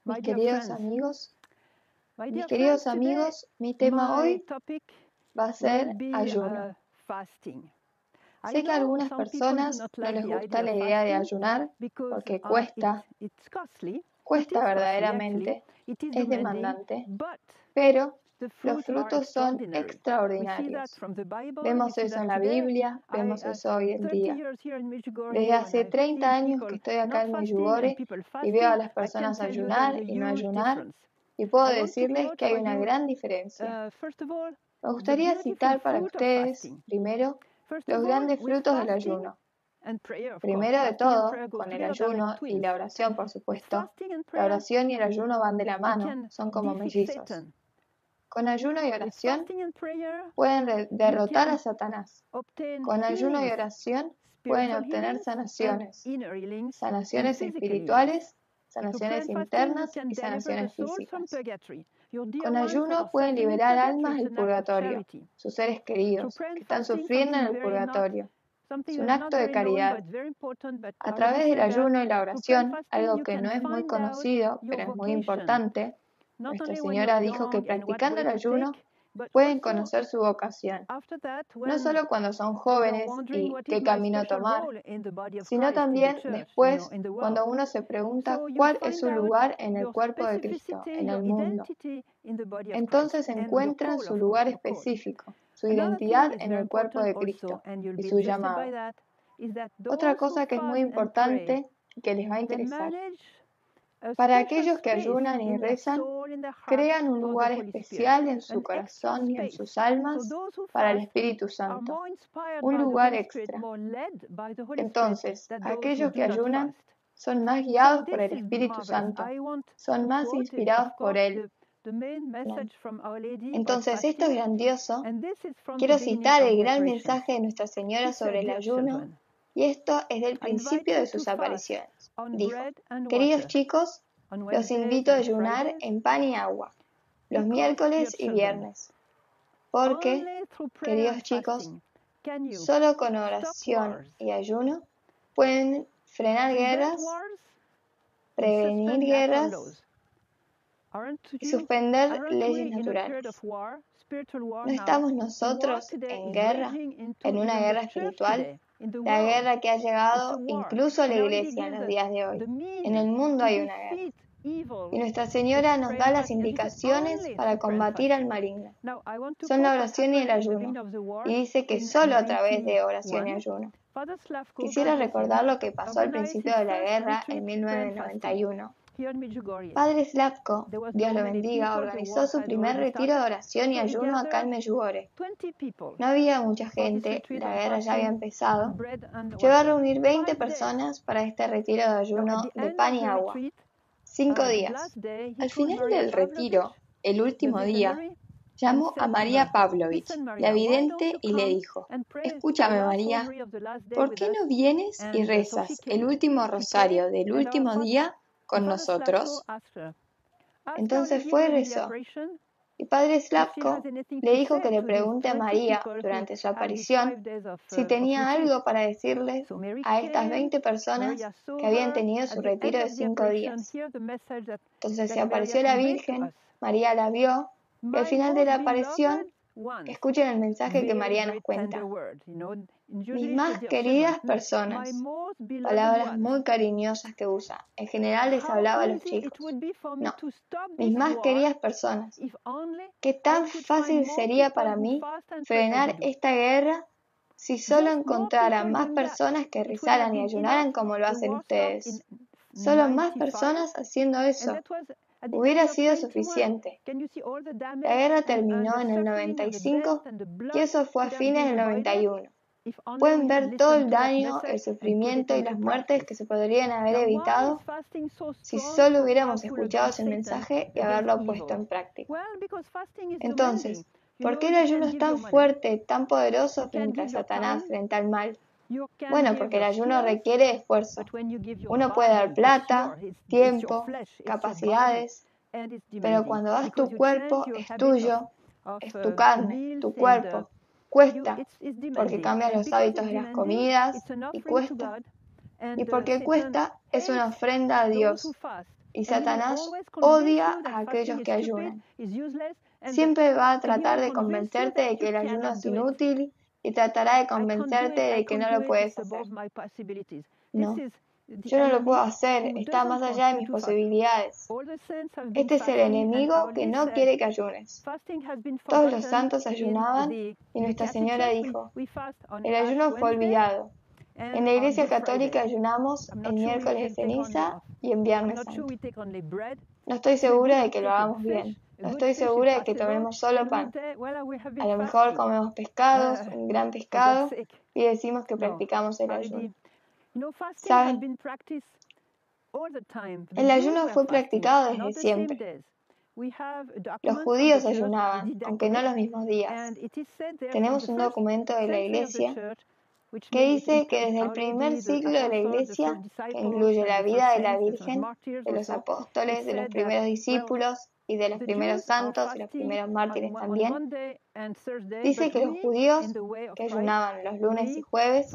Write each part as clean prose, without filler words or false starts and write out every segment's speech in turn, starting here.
Mis queridos amigos, mi tema hoy va a ser ayuno. Sé que a algunas personas no les gusta la idea de ayunar porque cuesta verdaderamente, es demandante, pero los frutos son extraordinarios. Vemos eso en la Biblia, vemos eso hoy en día. Desde hace 30 años que estoy acá en Medjugorje y veo a las personas ayunar y no ayunar, y puedo decirles que hay una gran diferencia. Me gustaría citar para ustedes, primero, los grandes frutos del ayuno. Primero de todo, con el ayuno y la oración, por supuesto, la oración y el ayuno van de la mano, son como mellizos. Con ayuno y oración pueden derrotar a Satanás. Con ayuno y oración pueden obtener sanaciones espirituales, sanaciones internas y sanaciones físicas. Con ayuno pueden liberar almas del purgatorio, sus seres queridos, que están sufriendo en el purgatorio. Es un acto de caridad. A través del ayuno y la oración, algo que no es muy conocido, pero es muy importante, Nuestra Señora dijo que practicando el ayuno pueden conocer su vocación, no solo cuando son jóvenes y qué camino tomar, sino también después cuando uno se pregunta cuál es su lugar en el cuerpo de Cristo, en el mundo. Entonces encuentran su lugar específico, su identidad en el cuerpo de Cristo y su llamado. Otra cosa que es muy importante y que les va a interesar. Para aquellos que ayunan y rezan, crean un lugar especial en su corazón y en sus almas para el Espíritu Santo, un lugar extra. Entonces, aquellos que ayunan son más guiados por el Espíritu Santo, son más inspirados por Él. Entonces, esto es grandioso. Quiero citar el gran mensaje de Nuestra Señora sobre el ayuno, y esto es del principio de sus apariciones. Dijo: queridos chicos, los invito a ayunar en pan y agua, los miércoles y viernes, porque, queridos chicos, solo con oración y ayuno pueden frenar guerras, prevenir guerras y suspender leyes naturales. ¿No estamos nosotros en guerra, en una guerra espiritual? La guerra que ha llegado incluso a la iglesia en los días de hoy. En el mundo hay una guerra. Y Nuestra Señora nos da las indicaciones para combatir al maligno. Son la oración y el ayuno. Y dice que solo a través de oración y ayuno. Quisiera recordar lo que pasó al principio de la guerra en 1991. Padre Slavko, Dios lo bendiga, organizó su primer retiro de oración y ayuno acá en Medjugorje. No había mucha gente, la guerra ya había empezado. Llegó a reunir 20 personas para este retiro de ayuno de pan y agua. 5 días. Al final del retiro, el último día, llamó a María Pavlovich, la vidente, y le dijo: escúchame, María, ¿por qué no vienes y rezas el último rosario del último día con nosotros? Entonces fue y rezó. Y Padre Slavko le dijo que le pregunte a María durante su aparición si tenía algo para decirles a estas 20 personas que habían tenido su retiro de 5 días. Entonces se apareció la Virgen, María la vio, y al final de la aparición, escuchen el mensaje que María nos cuenta. Mis más queridas personas, palabras muy cariñosas que usa. En general les hablaba a los chicos. No, mis más queridas personas. Qué tan fácil sería para mí frenar esta guerra si solo encontrara más personas que rezaran y ayunaran como lo hacen ustedes. Solo más personas haciendo eso. Hubiera sido suficiente. La guerra terminó en el 95 y eso fue a fines del 91. Pueden ver todo el daño, el sufrimiento y las muertes que se podrían haber evitado si solo hubiéramos escuchado ese mensaje y haberlo puesto en práctica. Entonces, ¿por qué el ayuno es tan fuerte, tan poderoso frente a Satanás, frente al mal? Bueno, porque el ayuno requiere esfuerzo. Uno puede dar plata, tiempo, capacidades, pero cuando das tu cuerpo es tuyo, es tu carne, tu cuerpo. Cuesta, porque cambias los hábitos de las comidas y cuesta. Y porque cuesta, es una ofrenda a Dios. Y Satanás odia a aquellos que ayunan. Siempre va a tratar de convencerte de que el ayuno es inútil y tratará de convencerte de que no lo puedes hacer. No, yo no lo puedo hacer, está más allá de mis posibilidades. Este es el enemigo que no quiere que ayunes. Todos los santos ayunaban y Nuestra Señora dijo, el ayuno fue olvidado. En la Iglesia Católica ayunamos en miércoles de ceniza y en viernes santo. No estoy segura de que lo hagamos bien. No estoy segura de que tomemos solo pan. A lo mejor comemos pescados, un gran pescado, y decimos que practicamos el ayuno. ¿Saben? El ayuno fue practicado desde siempre. Los judíos ayunaban, aunque no los mismos días. Tenemos un documento de la Iglesia que dice que desde el primer siglo de la Iglesia, que incluye la vida de la Virgen, de los apóstoles, de los primeros discípulos y de los primeros santos y los primeros mártires también, dice que los judíos que ayunaban los lunes y jueves,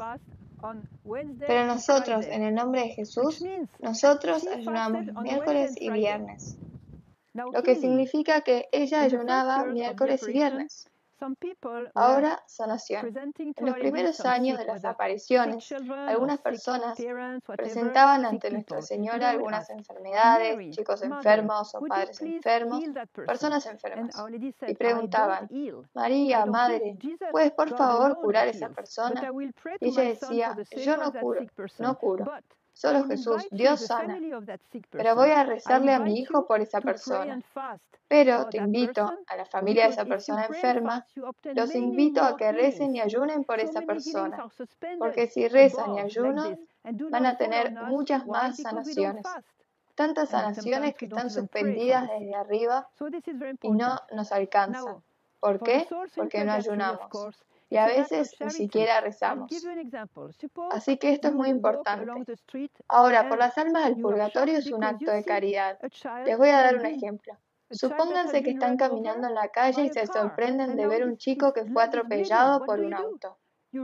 pero nosotros, en el nombre de Jesús, nosotros ayunamos los miércoles y viernes, lo que significa que ella ayunaba miércoles y viernes. Ahora, sanación. En los primeros años de las apariciones, algunas personas presentaban ante Nuestra Señora algunas enfermedades, chicos enfermos o padres enfermos, personas enfermas, y preguntaban, María, Madre, ¿puedes por favor curar a esa persona? Y ella decía, yo no curo, no curo. Solo Jesús, Dios sana. Pero voy a rezarle a mi hijo por esa persona. Pero te invito, a la familia de esa persona enferma, los invito a que recen y ayunen por esa persona. Porque si rezan y ayunan, van a tener muchas más sanaciones. Tantas sanaciones que están suspendidas desde arriba y no nos alcanzan. ¿Por qué? Porque no ayunamos. Y a veces ni siquiera rezamos. Así que esto es muy importante. Ahora, por las almas del purgatorio es un acto de caridad. Les voy a dar un ejemplo. Supónganse que están caminando en la calle y se sorprenden de ver un chico que fue atropellado por un auto.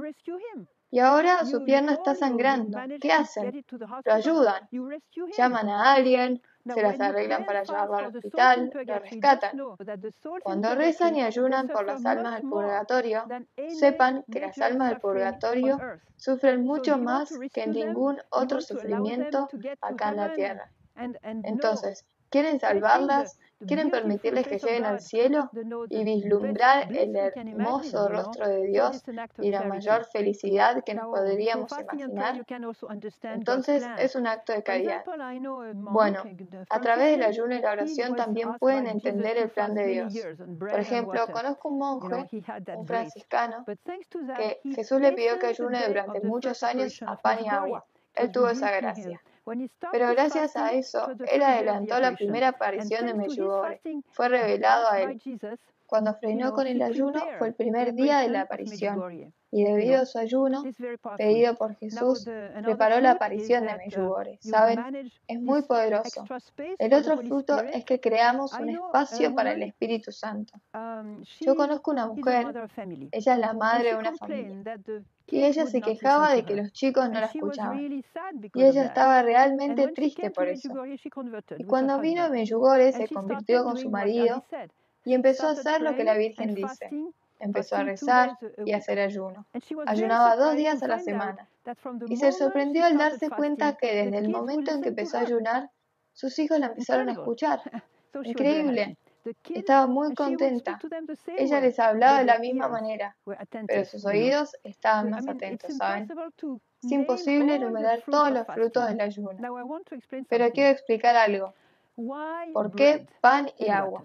Y ahora su pierna está sangrando. ¿Qué hacen? Lo ayudan. Llaman a alguien, se las arreglan para llevarlo al hospital, lo rescatan. Cuando rezan y ayunan por las almas del purgatorio, sepan que las almas del purgatorio sufren mucho más que ningún otro sufrimiento acá en la tierra. Entonces, ¿quieren salvarlas? ¿Quieren permitirles que lleguen al cielo y vislumbrar el hermoso rostro de Dios y la mayor felicidad que nos podríamos imaginar? Entonces es un acto de caridad. Bueno, a través del ayuno y la oración también pueden entender el plan de Dios. Por ejemplo, conozco un monje, un franciscano, que Jesús le pidió que ayune durante muchos años a pan y agua. Él tuvo esa gracia. Pero gracias a eso, él adelantó la primera aparición de Medjugorje. Fue revelado a él. Cuando frenó con el ayuno, fue el primer día de la aparición. Y debido a su ayuno, pedido por Jesús, preparó la aparición de Medjugorje. ¿Saben? Es muy poderoso. El otro fruto es que creamos un espacio para el Espíritu Santo. Yo conozco una mujer, ella es la madre de una familia. Y ella se quejaba de que los chicos no la escuchaban. Y ella estaba realmente triste por eso. Y cuando vino a Medjugorje se convirtió con su marido y empezó a hacer lo que la Virgen dice. Empezó a rezar y a hacer ayuno. Ayunaba 2 días a la semana. Y se sorprendió al darse cuenta que desde el momento en que empezó a ayunar, sus hijos la empezaron a escuchar. Increíble. Estaba muy contenta. Ella les hablaba de la misma manera, pero sus oídos estaban más atentos, ¿saben? Es imposible enumerar todos los frutos del ayuno. Pero quiero explicar algo. ¿Por qué pan y agua?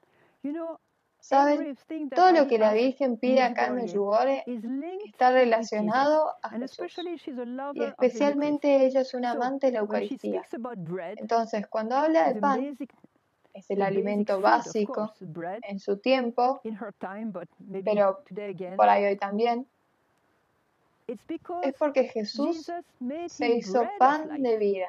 ¿Saben? Todo lo que la Virgen pide acá en Medjugorje está relacionado a Jesús. Y especialmente ella es una amante de la Eucaristía. Entonces, cuando habla de pan, es el alimento básico en su tiempo, pero por ahí hoy también. Es porque Jesús se hizo pan de vida.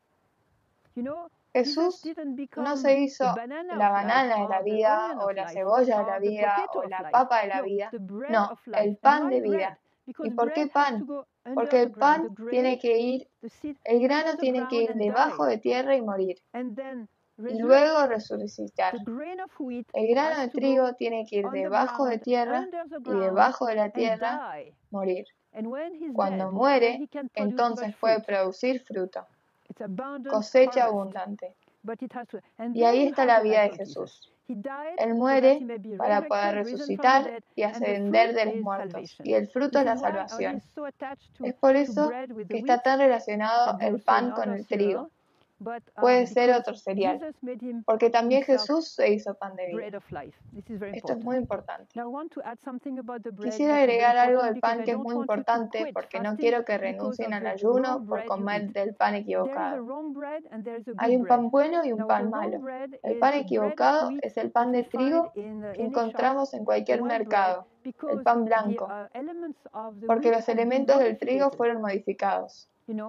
Jesús no se hizo la banana de la vida, o la cebolla de la vida, o la papa de la vida. No, el pan de vida. ¿Y por qué pan? Porque el pan tiene que ir, el grano tiene que ir debajo de tierra y morir, y luego resucitar. El grano de trigo tiene que ir debajo de tierra y debajo de la tierra morir. Cuando muere, entonces puede producir fruto, cosecha abundante. Y ahí está la vida de Jesús. Él muere para poder resucitar y ascender de los muertos, y el fruto es la salvación. Es por eso que está tan relacionado el pan con el trigo. Puede ser otro cereal, porque también Jesús se hizo pan de vida. Esto es muy importante. Quisiera agregar algo del pan que es muy importante, porque no quiero que renuncien al ayuno por comer del pan equivocado. Hay un pan bueno y un pan malo. El pan equivocado es el pan de trigo que encontramos en cualquier mercado, el pan blanco, porque los elementos del trigo fueron modificados.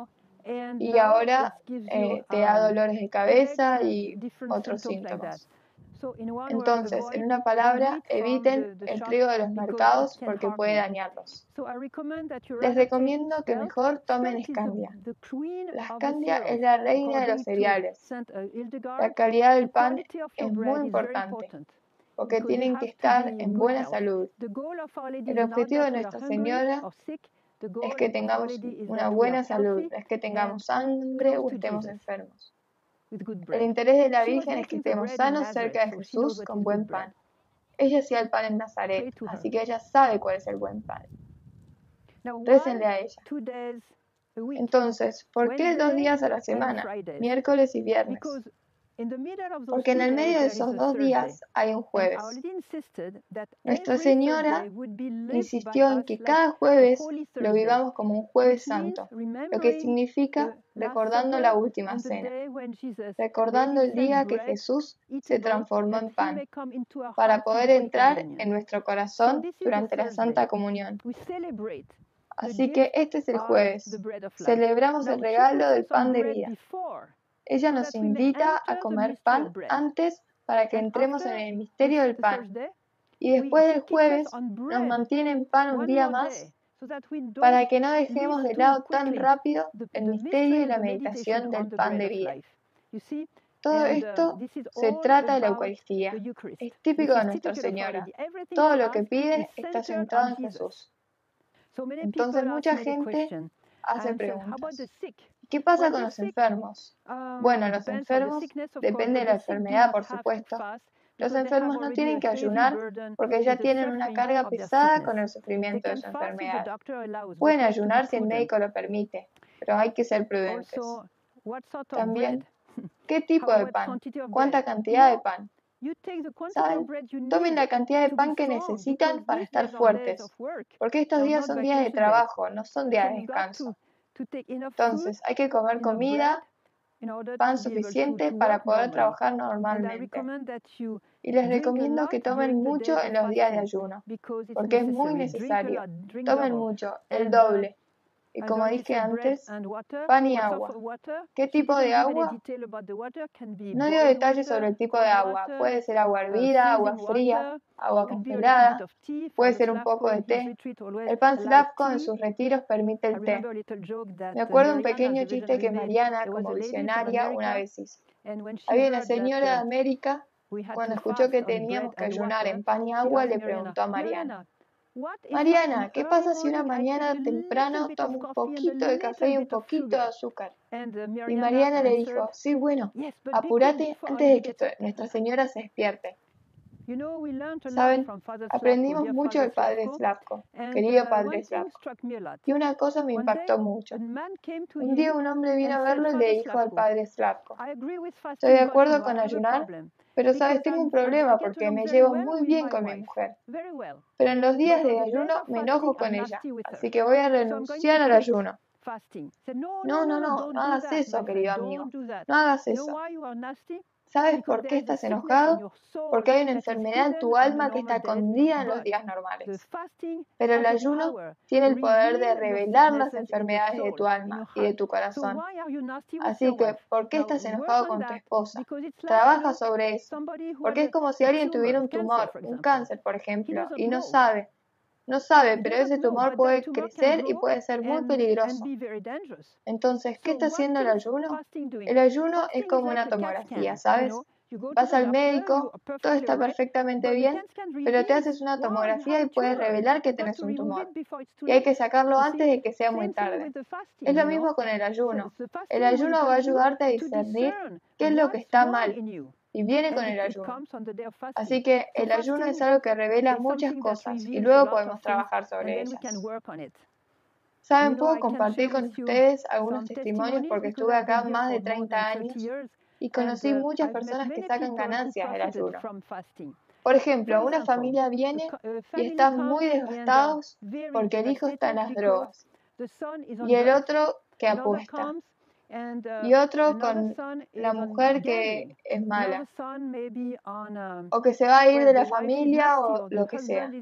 Y ahora te da dolores de cabeza y otros síntomas. Entonces, en una palabra, eviten el trigo de los mercados porque puede dañarlos. Les recomiendo que mejor tomen Scandia. La Scandia es la reina de los cereales. La calidad del pan es muy importante porque tienen que estar en buena salud. El objetivo de Nuestra Señora es que tengamos una buena salud, es que tengamos sangre o estemos enfermos. El interés de la Virgen es que estemos sanos cerca de Jesús con buen pan. Ella hacía el pan en Nazaret, así que ella sabe cuál es el buen pan. Récenle a ella. Entonces, ¿por qué 2 días a la semana? Miércoles y viernes. Porque en el medio de esos 2 días hay un jueves. Nuestra Señora insistió en que cada jueves lo vivamos como un jueves santo, lo que significa recordando la última cena, recordando el día que Jesús se transformó en pan, para poder entrar en nuestro corazón durante la Santa Comunión. Así que este es el jueves. Celebramos el regalo del pan de vida. Ella nos invita a comer pan antes para que entremos en el misterio del pan. Y después del jueves nos mantiene en pan un día más para que no dejemos de lado tan rápido el misterio y la meditación del pan de vida. Todo esto se trata de la Eucaristía. Es típico de Nuestra Señora. Todo lo que pide está centrado en Jesús. Entonces mucha gente hace preguntas. ¿Qué pasa con los enfermos? Bueno, los enfermos, depende de la enfermedad, por supuesto. Los enfermos no tienen que ayunar porque ya tienen una carga pesada con el sufrimiento de su enfermedad. Pueden ayunar si el médico lo permite, pero hay que ser prudentes. También, ¿qué tipo de pan? ¿Cuánta cantidad de pan? ¿Saben? Tomen la cantidad de pan que necesitan para estar fuertes, porque estos días son días de trabajo, no son días de descanso. Entonces, hay que comer comida, pan suficiente para poder trabajar normalmente. Y les recomiendo que tomen mucho en los días de ayuno, porque es muy necesario. Tomen mucho, el doble. Y como dije antes, pan y agua. ¿Qué tipo de agua? No dio detalles sobre el tipo de agua. Puede ser agua hervida, agua fría, agua congelada, puede ser un poco de té. El pan Slavko en sus retiros permite el té. Me acuerdo un pequeño chiste que Mariana, como visionaria, una vez hizo. Había una señora de América, cuando escuchó que teníamos que ayunar en pan y agua, le preguntó a Mariana: Mariana, ¿qué pasa si una mañana temprano tomo un poquito de café y un poquito de azúcar? Y Mariana le dijo: sí, bueno, apúrate antes de que Nuestra Señora se despierte. Saben, aprendimos mucho del Padre Slavko, querido Padre Slavko, y una cosa me impactó mucho. Un día un hombre vino a verlo y le dijo al Padre Slavko: estoy de acuerdo con ayunar, pero sabes, tengo un problema porque me llevo muy bien con mi mujer. Pero en los días de ayuno me enojo con ella, así que voy a renunciar al ayuno. No hagas eso, querido amigo, no hagas eso. ¿Sabes por qué estás enojado? Porque hay una enfermedad en tu alma que está escondida en los días normales. Pero el ayuno tiene el poder de revelar las enfermedades de tu alma y de tu corazón. Así que, ¿por qué estás enojado con tu esposa? Trabaja sobre eso. Porque es como si alguien tuviera un tumor, un cáncer, por ejemplo, y no sabe no sabe, pero ese tumor puede crecer y puede ser muy peligroso. Entonces, ¿qué está haciendo el ayuno? El ayuno es como una tomografía, ¿sabes? Vas al médico, todo está perfectamente bien, pero te haces una tomografía y puedes revelar que tienes un tumor. Y hay que sacarlo antes de que sea muy tarde. Es lo mismo con el ayuno. El ayuno va a ayudarte a discernir qué es lo que está mal. Y viene con el ayuno. Así que el ayuno es algo que revela muchas cosas y luego podemos trabajar sobre ellas. Saben, puedo compartir con ustedes algunos testimonios porque estuve acá más de 30 años y conocí muchas personas que sacan ganancias del ayuno. Por ejemplo, una familia viene y están muy devastados porque el hijo está en las drogas y el otro que apuesta y otro con la mujer que es mala o que se va a ir de la familia o lo que sea.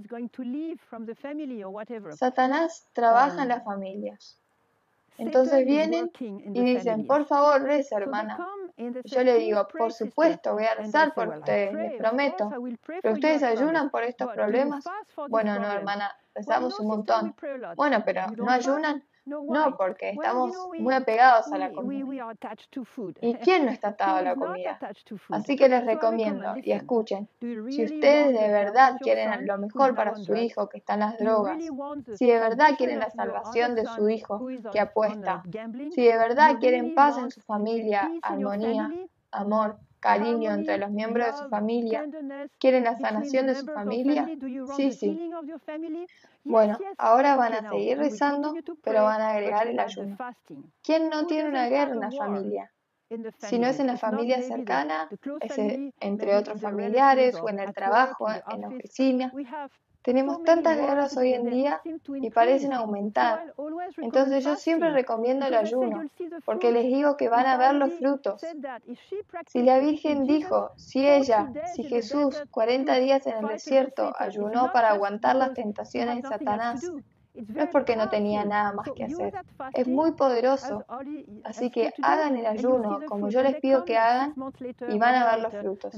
Satanás trabaja en las familias. Entonces vienen y dicen, por favor, reza, hermana. Y yo le digo, por supuesto, voy a rezar por ustedes, les prometo. ¿Pero ustedes ayunan por estos problemas? Bueno, no, hermana, rezamos un montón. Bueno, pero ¿no ayunan? No, porque estamos muy apegados a la comida. ¿Y quién no está atado a la comida? Así que les recomiendo, y escuchen, si ustedes de verdad quieren lo mejor para su hijo que está en las drogas, si de verdad quieren la salvación de su hijo que apuesta, si de verdad quieren paz en su familia, armonía, amor, cariño entre los miembros de su familia, quieren la sanación de su familia, sí. Bueno, ahora van a seguir rezando, pero van a agregar el ayuno. ¿Quién no tiene una guerra en la familia? Si no es en la familia cercana, es entre otros familiares o en el trabajo, en la oficina. Tenemos tantas guerras hoy en día y parecen aumentar. Entonces yo siempre recomiendo el ayuno, porque les digo que van a ver los frutos. Si la Virgen dijo, si Jesús 40 días en el desierto ayunó para aguantar las tentaciones de Satanás, no es porque no tenía nada más que hacer. Es muy poderoso. Así que hagan el ayuno como yo les pido que hagan y van a ver los frutos.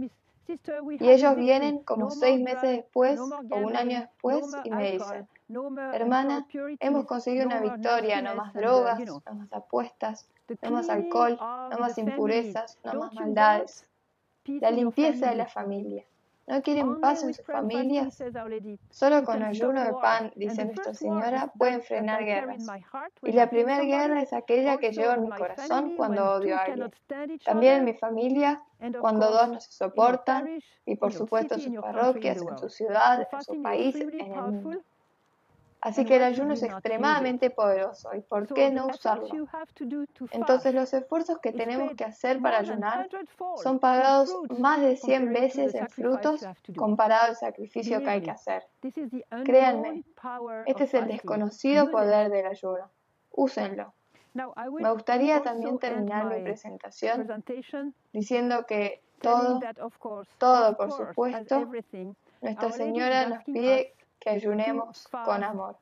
Y ellos vienen como 6 meses después o un año después y me dicen, hermana, hemos conseguido una victoria, no más drogas, no más apuestas, no más alcohol, no más impurezas, no más maldades. La limpieza de la familia. ¿No quieren paz en sus familias? Solo con ayuno de pan, dice Nuestra Señora, pueden frenar guerras. Y la primera guerra es aquella que llevo en mi corazón cuando odio a alguien. También en mi familia, cuando dos no se soportan, y por supuesto en sus parroquias, en su ciudad, en su país, en el mundo. Así que el ayuno es extremadamente poderoso. ¿Y por qué no usarlo? Entonces los esfuerzos que tenemos que hacer para ayunar son pagados más de 100 veces en frutos comparado al sacrificio que hay que hacer. Créanme, este es el desconocido poder del ayuno. Úsenlo. Me gustaría también terminar mi presentación diciendo que todo, por supuesto, Nuestra Señora nos pide que ayunemos con amor,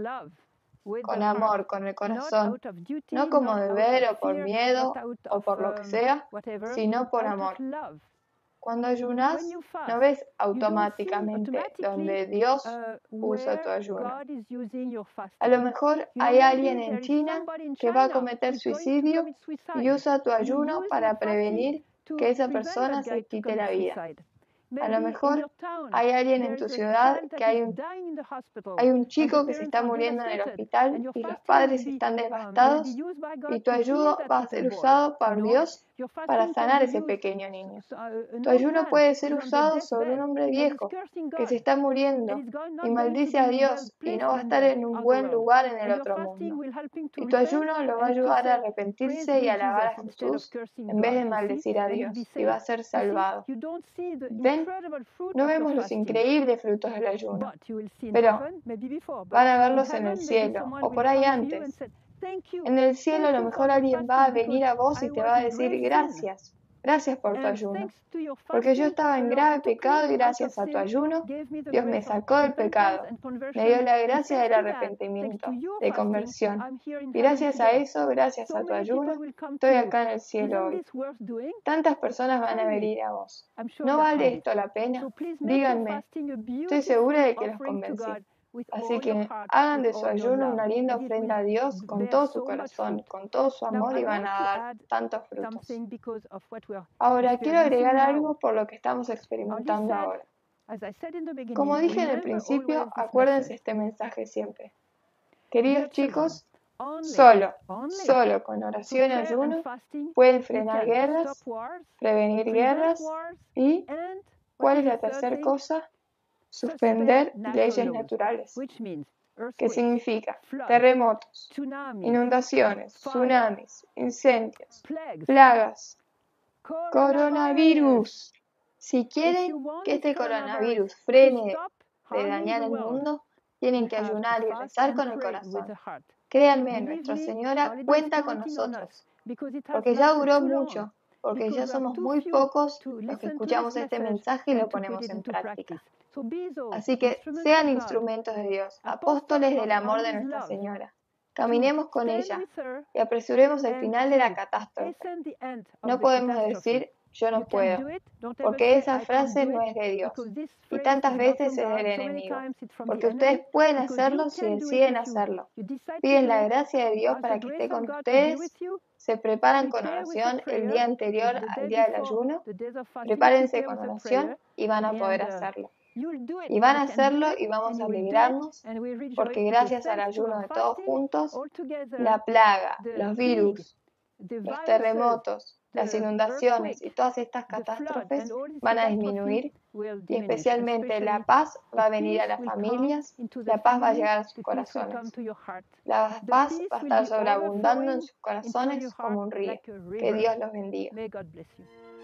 con el corazón, no como deber o por miedo o por lo que sea, sino por amor. Cuando ayunas, no ves automáticamente donde Dios usa tu ayuno. A lo mejor hay alguien en China que va a cometer suicidio y usa tu ayuno para prevenir que esa persona se quite la vida. A lo mejor hay alguien en tu ciudad que hay un chico que se está muriendo en el hospital y los padres están devastados y tu ayuno va a ser usado por Dios para sanar a ese pequeño niño. Tu ayuno puede ser usado sobre un hombre viejo que se está muriendo y maldice a Dios y no va a estar en un buen lugar en el otro mundo. Y tu ayuno lo va a ayudar a arrepentirse y a alabar a Jesús en vez de maldecir a Dios y va a ser salvado. ¿Ven? No vemos los increíbles frutos del ayuno, pero van a verlos en el cielo o por ahí antes. En el cielo a lo mejor alguien va a venir a vos y te va a decir gracias por tu ayuno, porque yo estaba en grave pecado y gracias a tu ayuno Dios me sacó del pecado, me dio la gracia del arrepentimiento, de conversión, y gracias a eso, gracias a tu ayuno, estoy acá en el cielo hoy. Tantas personas van a venir a vos. ¿No vale esto la pena? Díganme, estoy segura de que los convencí. Así que hagan de su ayuno una linda ofrenda a Dios con todo su corazón, con todo su amor y van a dar tantos frutos. Ahora, quiero agregar algo por lo que estamos experimentando ahora. Como dije en el principio, acuérdense este mensaje siempre. Queridos chicos, solo con oración y ayuno pueden frenar guerras, prevenir guerras y, ¿cuál es la tercera cosa? Suspender leyes naturales, que significa terremotos, inundaciones, tsunamis, incendios, plagas, coronavirus. Si quieren que este coronavirus frene de dañar el mundo, tienen que ayunar y rezar con el corazón. Créanme, Nuestra Señora cuenta con nosotros, porque ya duró mucho, porque ya somos muy pocos los que escuchamos este mensaje y lo ponemos en práctica. Así que sean instrumentos de Dios, apóstoles del amor de Nuestra Señora. Caminemos con ella y apresuremos el final de la catástrofe. No podemos decir, yo no puedo, porque esa frase no es de Dios y tantas veces es del enemigo, porque ustedes pueden hacerlo si deciden hacerlo. Piden la gracia de Dios para que esté con ustedes, se preparan con oración el día anterior al día del ayuno, prepárense con oración y van a poder hacerlo. Y van a hacerlo y vamos a alegrarnos, porque gracias al ayuno de todos juntos, la plaga, los virus, los terremotos, las inundaciones y todas estas catástrofes van a disminuir y especialmente la paz va a venir a las familias, la paz va a llegar a sus corazones. La paz va a estar sobreabundando en sus corazones como un río. Que Dios los bendiga.